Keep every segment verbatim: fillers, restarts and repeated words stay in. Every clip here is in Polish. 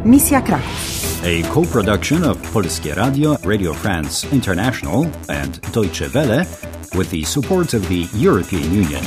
Misja Kraków. A co-production of Polskie Radio, Radio France International and Deutsche Welle with the support of the European Union.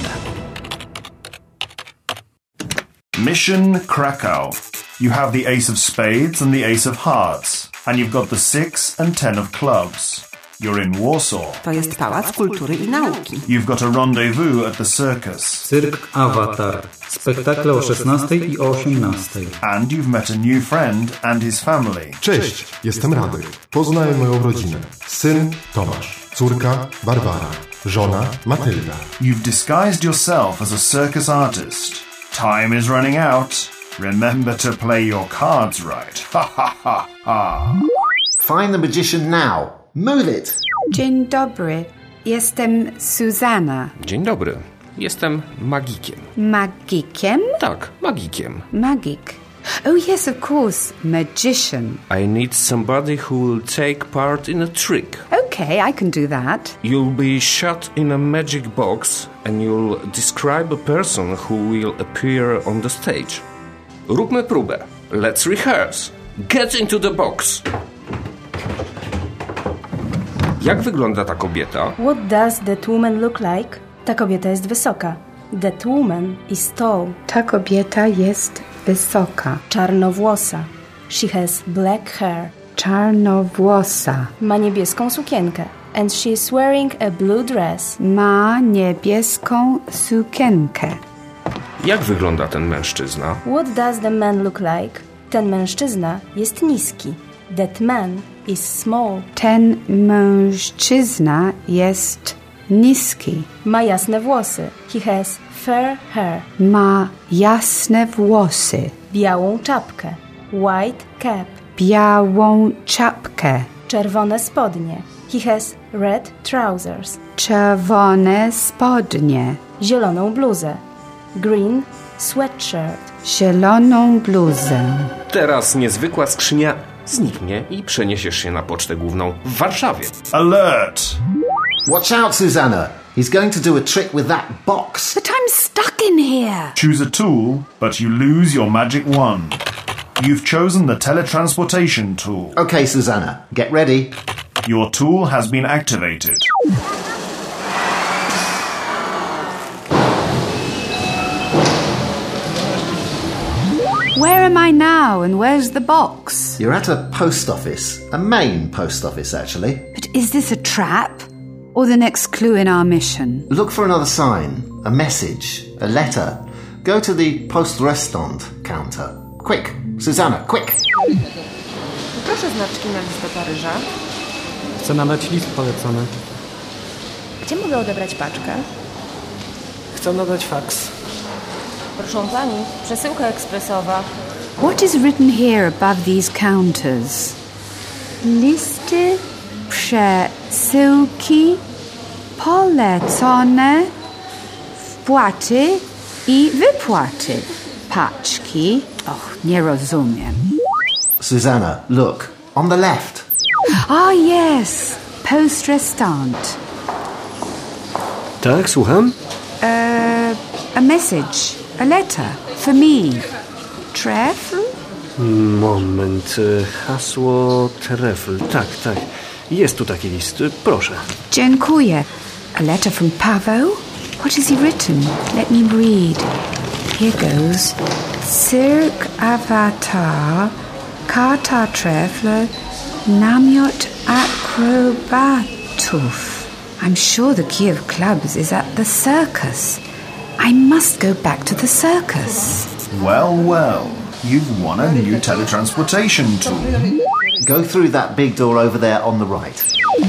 Mission Krakow. You have the ace of spades and the ace of hearts, and you've got the six and ten of clubs. You're in Warsaw. To jest Pałac Kultury i Nauki. You've got a rendezvous at the circus. Cyrk Avatar. Spektakle o szesnastej i o osiemnastej. And you've met a new friend and his family. Cześć, jestem Radek. Poznaj moją rodzinę. Syn Tomasz, córka Barbara, żona Matylda. You've disguised yourself as a circus artist. Time is running out. Remember to play your cards right. Ha ha ha ha. Find the magician now. Move it. Dzień dobry. Jestem Susanna. Dzień dobry. Jestem magikiem. Magikiem? Tak, magikiem. Magic. Oh yes, of course. Magician. I need somebody who will take part in a trick. Okay, I can do that. You'll be shut in a magic box and you'll describe a person who will appear on the stage. Róbmy próbę. Let's rehearse. Get into the box. Jak wygląda ta kobieta? What does that woman look like? Ta kobieta jest wysoka. That woman is tall. Ta kobieta jest wysoka. Czarnowłosa. She has black hair. Czarnowłosa. Ma niebieską sukienkę. And she is wearing a blue dress. Ma niebieską sukienkę. Jak wygląda ten mężczyzna? What does the man look like? Ten mężczyzna jest niski. That man is small. Ten mężczyzna jest niski. Ma jasne włosy. He has fair hair. Ma jasne włosy. Białą czapkę. White cap. Białą czapkę. Czerwone spodnie. He has red trousers. Czerwone spodnie. Zieloną bluzę. Green sweatshirt. Zieloną bluzę. Teraz niezwykła skrzynia zniknie i przeniesiesz się na pocztę główną w Warszawie. Alert! Watch out, Susanna. He's going to do a trick with that box. But I'm stuck in here. Choose a tool, but you lose your magic wand. You've chosen the teletransportation tool. Okay, Susanna, get ready. Your tool has been activated. Where am I now and where's the box? You're at a post office. A main post office, actually. But is this a trap or the next clue in our mission? Look for another sign, a message, a letter. Go to the post restaurant counter. Quick, Susanna, quick! Proszę znaczki na list do Paryża. Chcę nadać list polecony. Gdzie mogę odebrać paczkę? Chcę nadać faks. Proszę pani, przesyłka ekspresowa. What is written here above these counters? Listy przesyłki polecone, wpłaty i wypłaty. Paczki. Och, nie rozumiem. Susanna, look, on the left. Ah, yes. Post restaurant. Tak, słucham? Uh, a message. A letter. For me. Trefl? Moment. Hasło trefl. Tak, tak. Jest tu taki list. Proszę. Dziękuję. A letter from Paweł? What has he written? Let me read. Here goes. Cyrk Avatar, Karta Trefler, Namiot Acrobatów. I'm sure the key of clubs is at the circus. I must go back to the circus. Well, well, you've won a new teletransportation tool. Go through that big door over there on the right.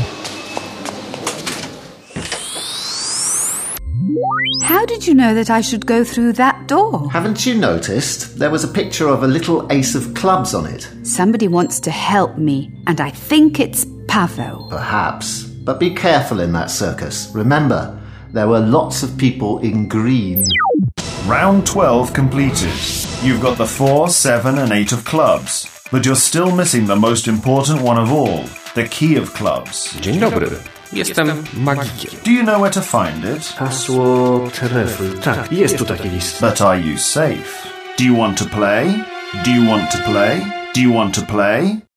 How did you know that I should go through that door? Haven't you noticed? There was a picture of a little ace of clubs on it. Somebody wants to help me, and I think it's Paweł. Perhaps. But be careful in that circus. Remember, there were lots of people in green. Round twelve completed. You've got the four, seven and eight of clubs, but you're still missing the most important one of all, the key of clubs. Dzień dobry. Jestem magikiem. Do you know where to find it? Hasło trefl. Tak, jest tu taki list. But are you safe? Do you want to play? Do you want to play? Do you want to play?